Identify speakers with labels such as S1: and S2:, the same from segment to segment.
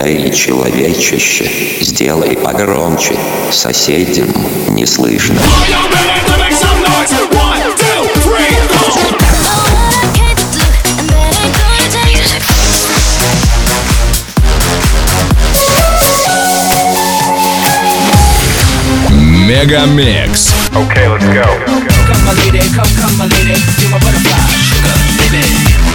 S1: Эй, человечище, сделай погромче, соседям не слышно.
S2: Мегамикс.
S3: Okay, let's go.
S4: Come my lady, come my lady, you're my butterfly, sugar, baby.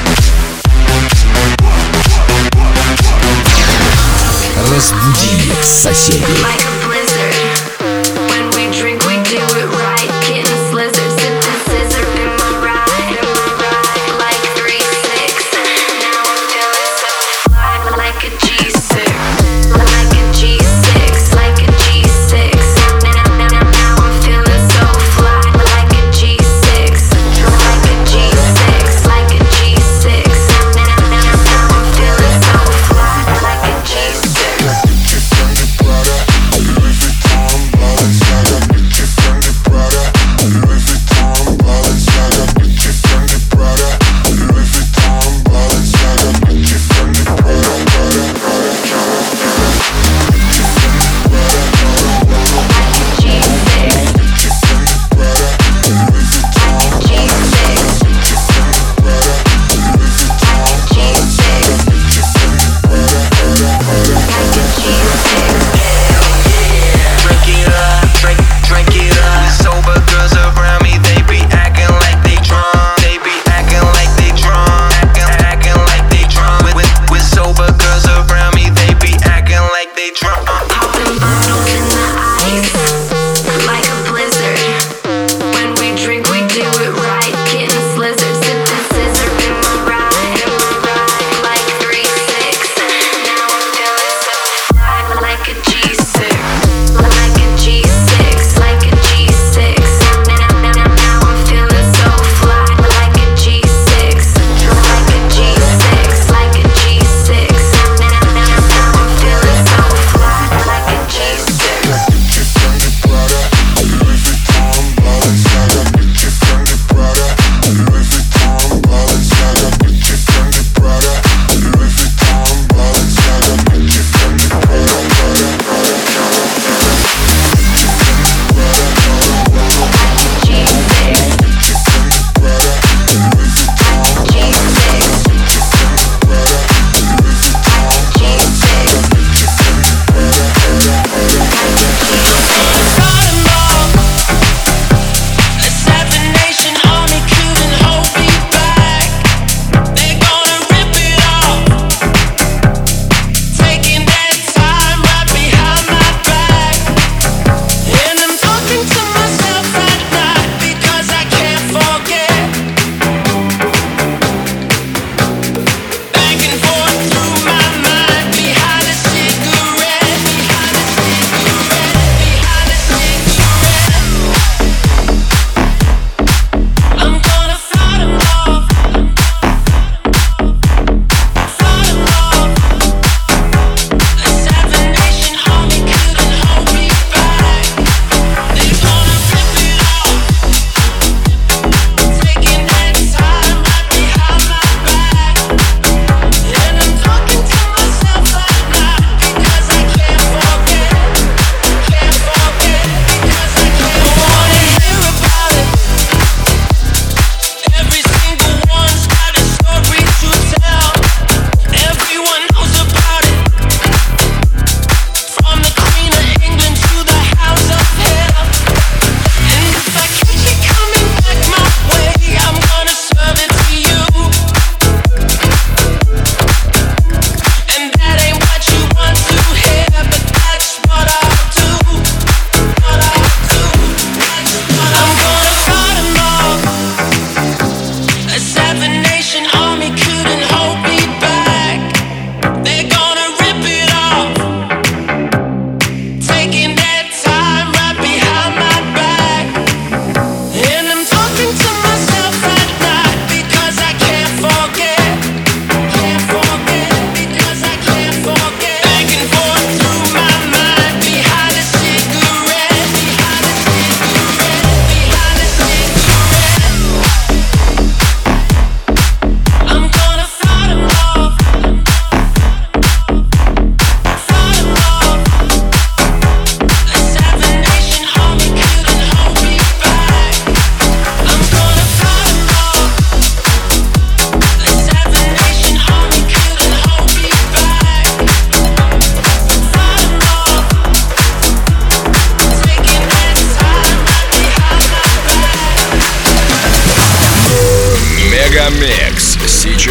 S2: Разбуди соседей.
S5: Like a blizzard. When we drink, we do it right. Getting slizzard, sipping scissor in my ride. Like 3-6. Now I'm feeling so fly. Like a G6. Like a G6. Like a G6. Now I'm feeling so fly. Like a G6. Like a G6. Like a G6. Now I'm feeling so fly. Like a G6.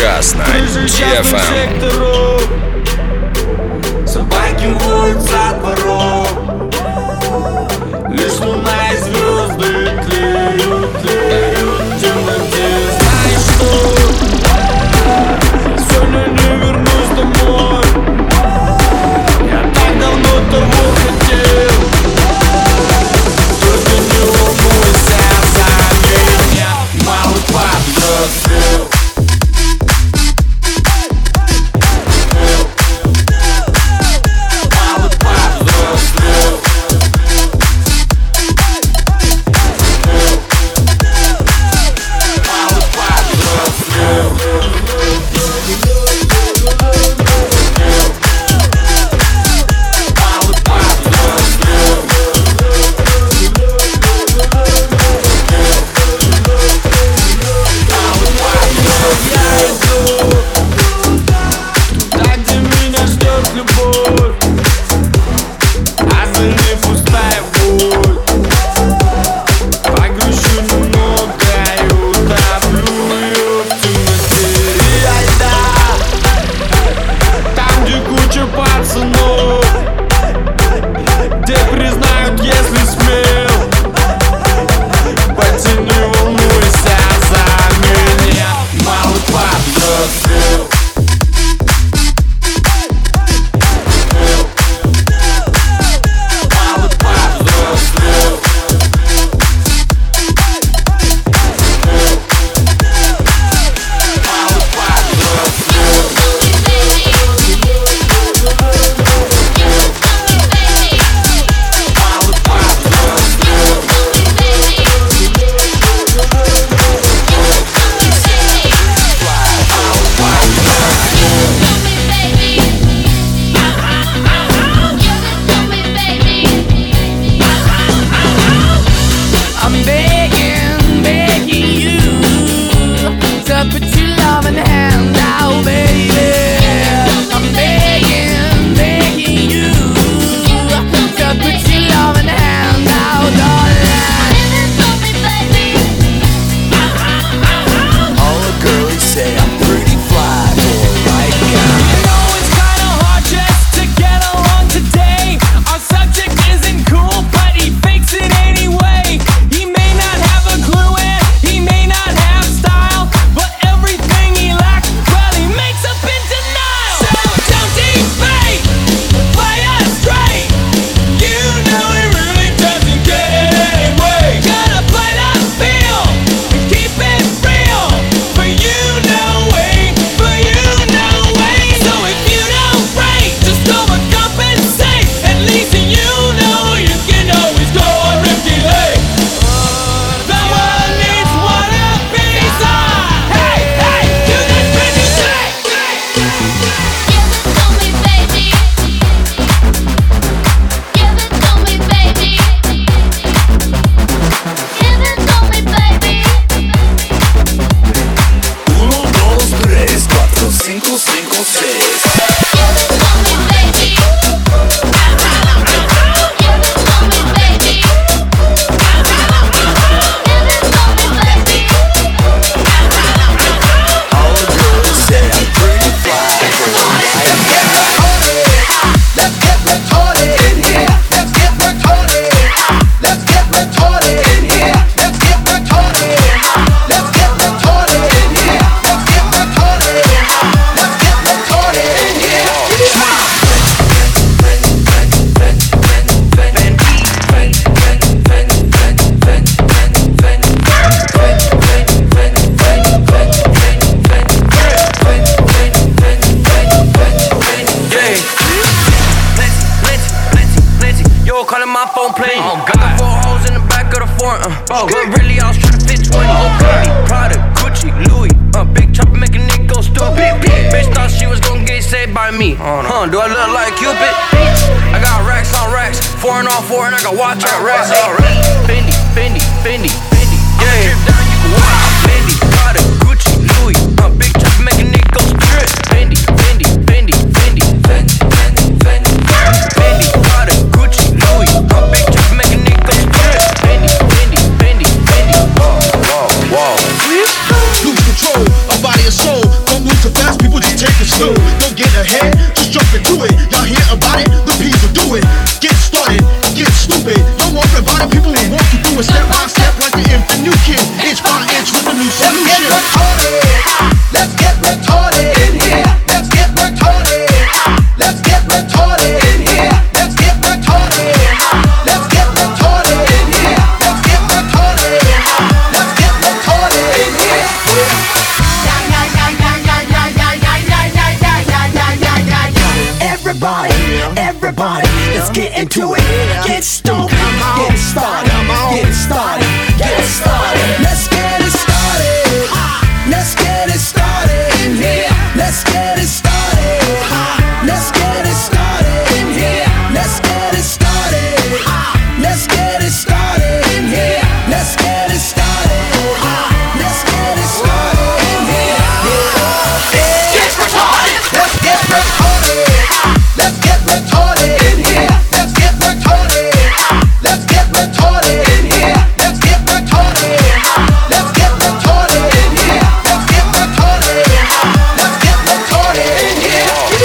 S2: Ежечасно. DFM.
S3: Собаки воют со дворов. Лишь луна и звезды тлеют, тлеют в темноте. Знаешь что? Сегодня не вернусь домой. Я так давно того хотел. Только не волнуйся за меня. Малый подрослел.
S6: But really I was trying to fit 20. Prada, Gucci, Louis, big chopper make a nigga go stupid. Bitch thought she was gonna get saved by me. Do I look like Cupid? I got racks on racks, 4 on 4, and I got watch out racks. Fendi, Fendi, Fendi, Fendi. Yeah, drip down, you can watch. Fendi, Prada, Gucci, Louis, big chopper make a nigga go strip. Fendi, Fendi, Fendi, Fendi, Fendi, Fendi, Fendi, Fendi, Prada, Gucci, Louis, big chopper make a nigga go strip. Fendi, Fendi, Fendi, Fendi. Whoa, whoa, whoa.
S7: Lose control, a body and soul. Don't lose Everybody, let's get into it. Get stoked, get it started, get it started, get it started. Let's get it started. Let's get it started in here. Let's get it started. Let's get it started in here. Let's get it started. Let's get it started in here. Let's get it started. Let's get it started in here. Get retarded. Let's get retarded. Let's get retarded in here. Let's get retarded. Let's get retarded in here. Let's get retarded. Let's get retarded in here. Let's get retarded. Let's get retarded in here.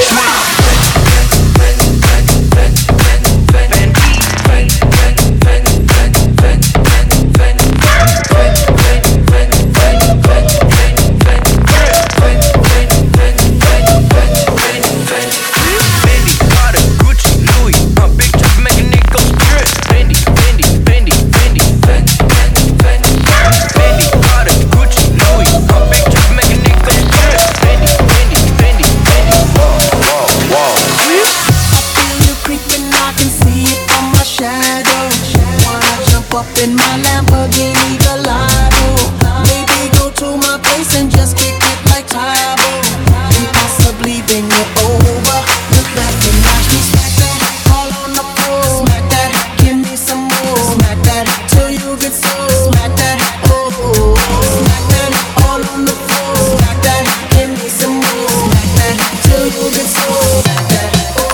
S7: Up in my Lamborghini Gallardo. Maybe go to my place and just kick it like Tae Bo. And possibly bring it over. Look back and watch me smack that all on the floor. Smack that, give me some more. Smack that till you get so. Smack that, oh. Smack that all on the floor. Smack that, give me some more. Smack that till you get so. Smack that,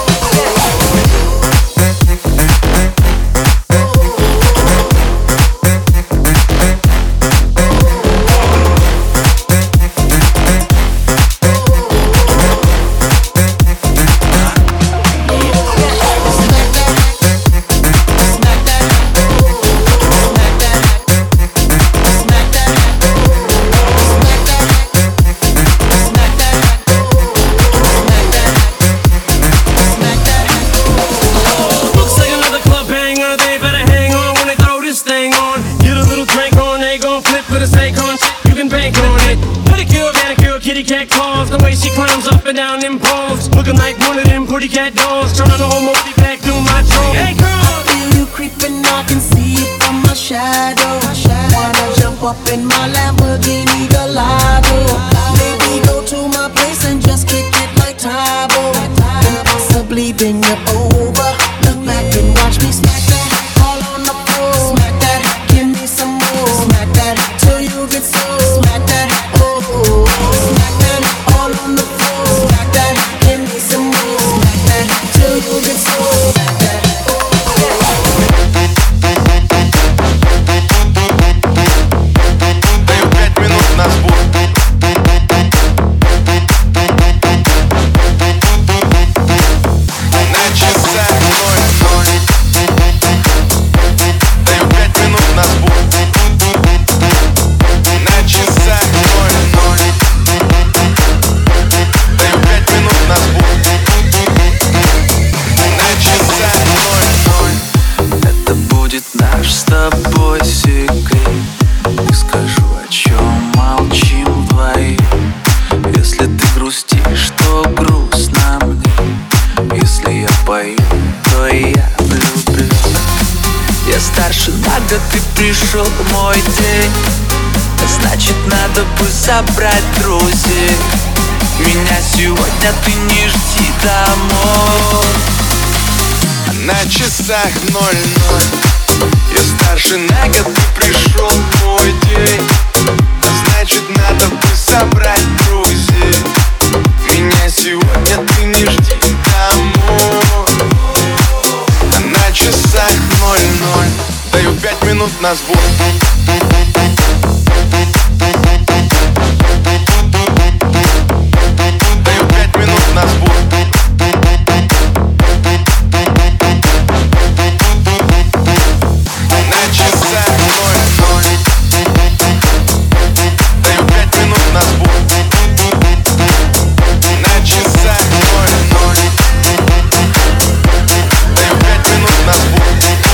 S3: down them poles, looking like one of them pretty cat dolls. Turn on the whole multi back through my throat. Hey girl, I feel you creeping, I can see it from my shadow. Wanna jump up in my Lamborghini Gallardo. Maybe go to my place and just kick it like Tae Bo. And possibly bring it over. Look back and watch me smack that all on the floor. Smack that, give me some more. Smack that till you get so. Smack that, oh. Smack that all on the floor. Smack that, give me some more. Smack that till you get so. Smack that,
S8: Даю 5 минут на сбор. На часах 0:0. Даю 5 минут на сбор. На часах 0:0. Даю 5 минут на сбор. На часах 0:0.
S9: Это будет наш с тобой секрет. Не скажу, о чем молчим вдвоем. Если ты грустишь, то грустно мне. Если я пою, то я влюблюсь. Я старше на год, ты пришел мой день. Значит, надо бы собрать друзей. Меня сегодня ты не жди домой.
S8: На часах 0:0. Я старше на год, ты пришел в мой день. Значит, надо бы собрать друзей. Меня сегодня ты не жди домой. На часах 0:0. Даю 5 минут на сбор. Даю 5 минут на сбор. На часах 0:0. Даю 5 минут на сбор. На часах 0:0. Даю 5 минут на сбор.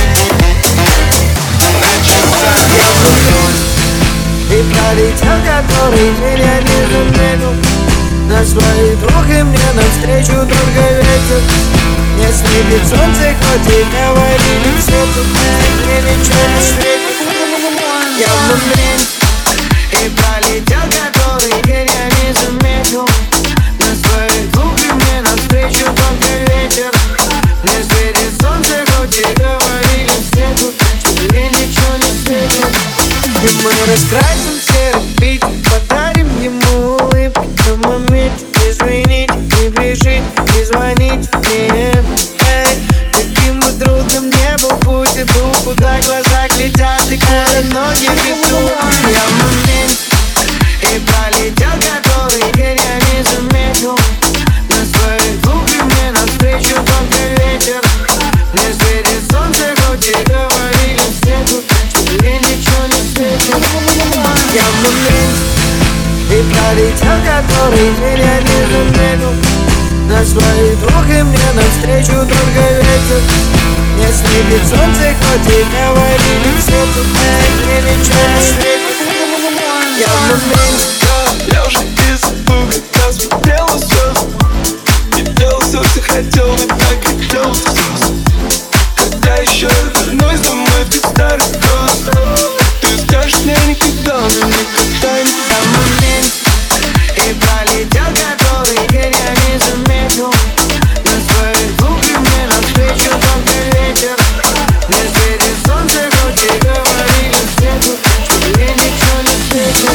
S8: На часах 0:0.
S7: И пролетел, который меня не заметил. Наш твои друг и мне навстречу только ветер. Не светит солнце, хоть и говорили все, тут мне ничего не светит. Я в момент и пролетел, который день я не заметил. На своих двух и мне навстречу только ветер. Не светит солнце, хоть и говорили все тут, что мне ничего не светит. И мы раскрасим серый Питер, подарим ему улыбки на моменте. Извините, не бежите, не звоните мне. Каким бы трудным не был путь, иду, куда глаза глядят и куда ноги ведут. Я в момент и пролетел, который день я не заметил. На своих двух и мне навстречу только ветер. Не светит солнце, хоть и говорили все тут, что мне ничего не светит. Я в момент и пролетел, который день я не заметил. На своих двух и мне навстречу только ветер. Не светит солнце, хоть и говорили все тут, мне ничего не светит. Я в момент.
S8: Я уже из испуга смотрел на звезд и делал все, что хотел, и так хотел слез. Когда еще я вернусь домой в тот старый город, ты скажешь мне никогда, но никогда не.
S7: Я в момент и пролетел, который день я не заметил. На своих двух и мне навстречу только ветер. Не светит солнце, хоть и говорили все тут, что мне ничего не светит.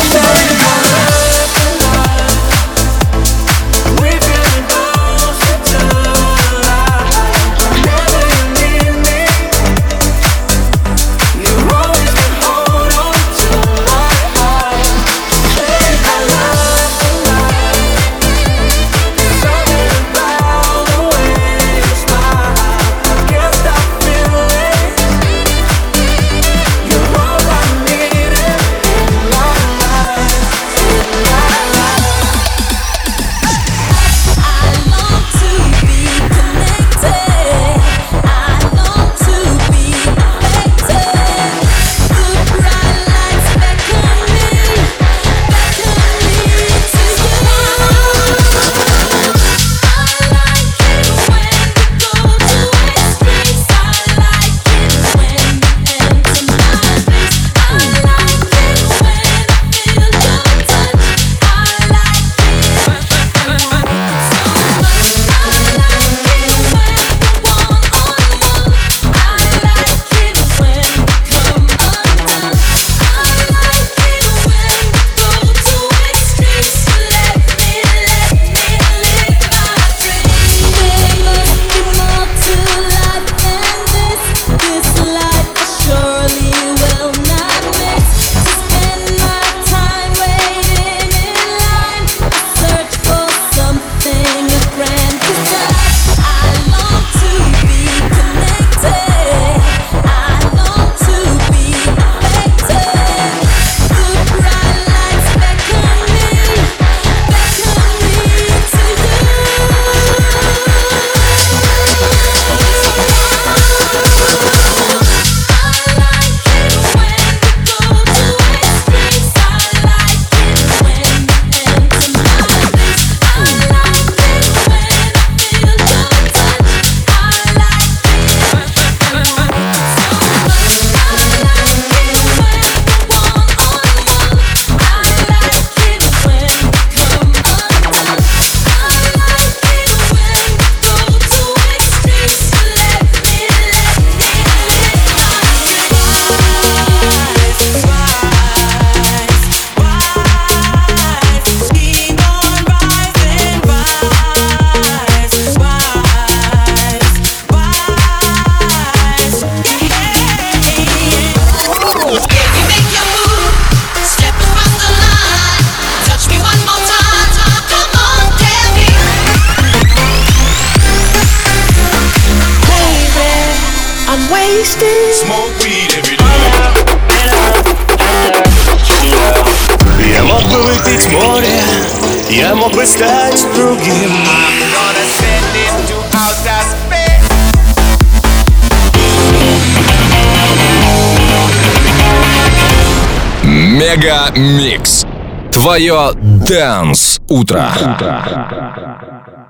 S10: Я мог бы выпить море, я мог бы стать другим.
S2: Мега Микс. Твое Dance утро.